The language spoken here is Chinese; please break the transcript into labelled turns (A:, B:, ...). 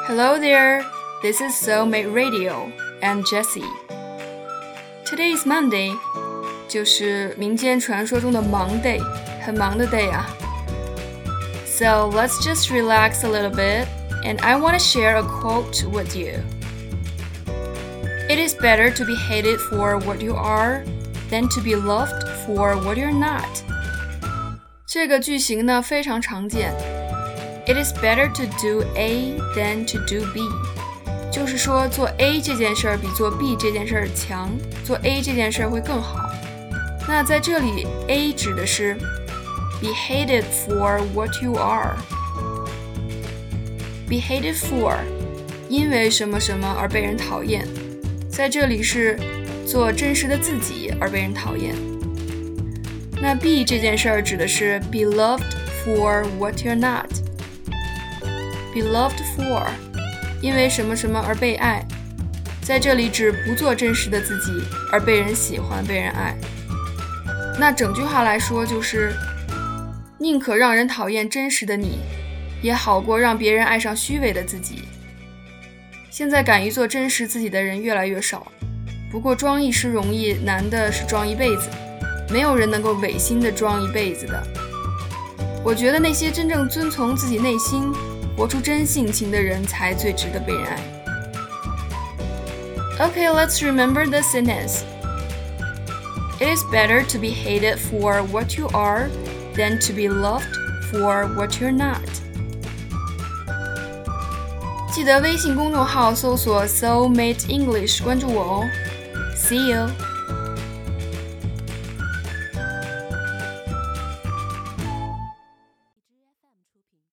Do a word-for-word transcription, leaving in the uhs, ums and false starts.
A: Hello there, this is Soulmate Radio and Jessie. Today is Monday, 就是民间传说中的忙 day, 很忙的 day 啊。So let's just relax a little bit, and I want to share a quote with you. It is better to be hated for what you are than to be loved for what you're not. 这个句型呢非常常见。It is better to do A than to do B. 就是说做 A 这件事儿比做 B 这件事儿强，做 A 这件事儿会更好。那在这里 A 指的是 be hated for what you are. Be hated for 因为什么什么而被人讨厌，在这里是做真实的自己而被人讨厌。那 B 这件事儿指的是 be loved for what you're not. Be loved for 因为什么什么而被爱，在这里指不做真实的自己而被人喜欢被人爱。那整句话来说就是宁可让人讨厌真实的你，也好过让别人爱上虚伪的自己。现在敢于做真实自己的人越来越少，不过装一时容易，难的是装一辈子，没有人能够违心的装一辈子的。我觉得那些真正遵从自己内心活出真性情的人才最值得被人爱。 Okay, let's remember the sentence. It is better to be hated for what you are than to be loved for what you're not. 记得微信公众号搜索 Soulmate English 关注我哦。See you!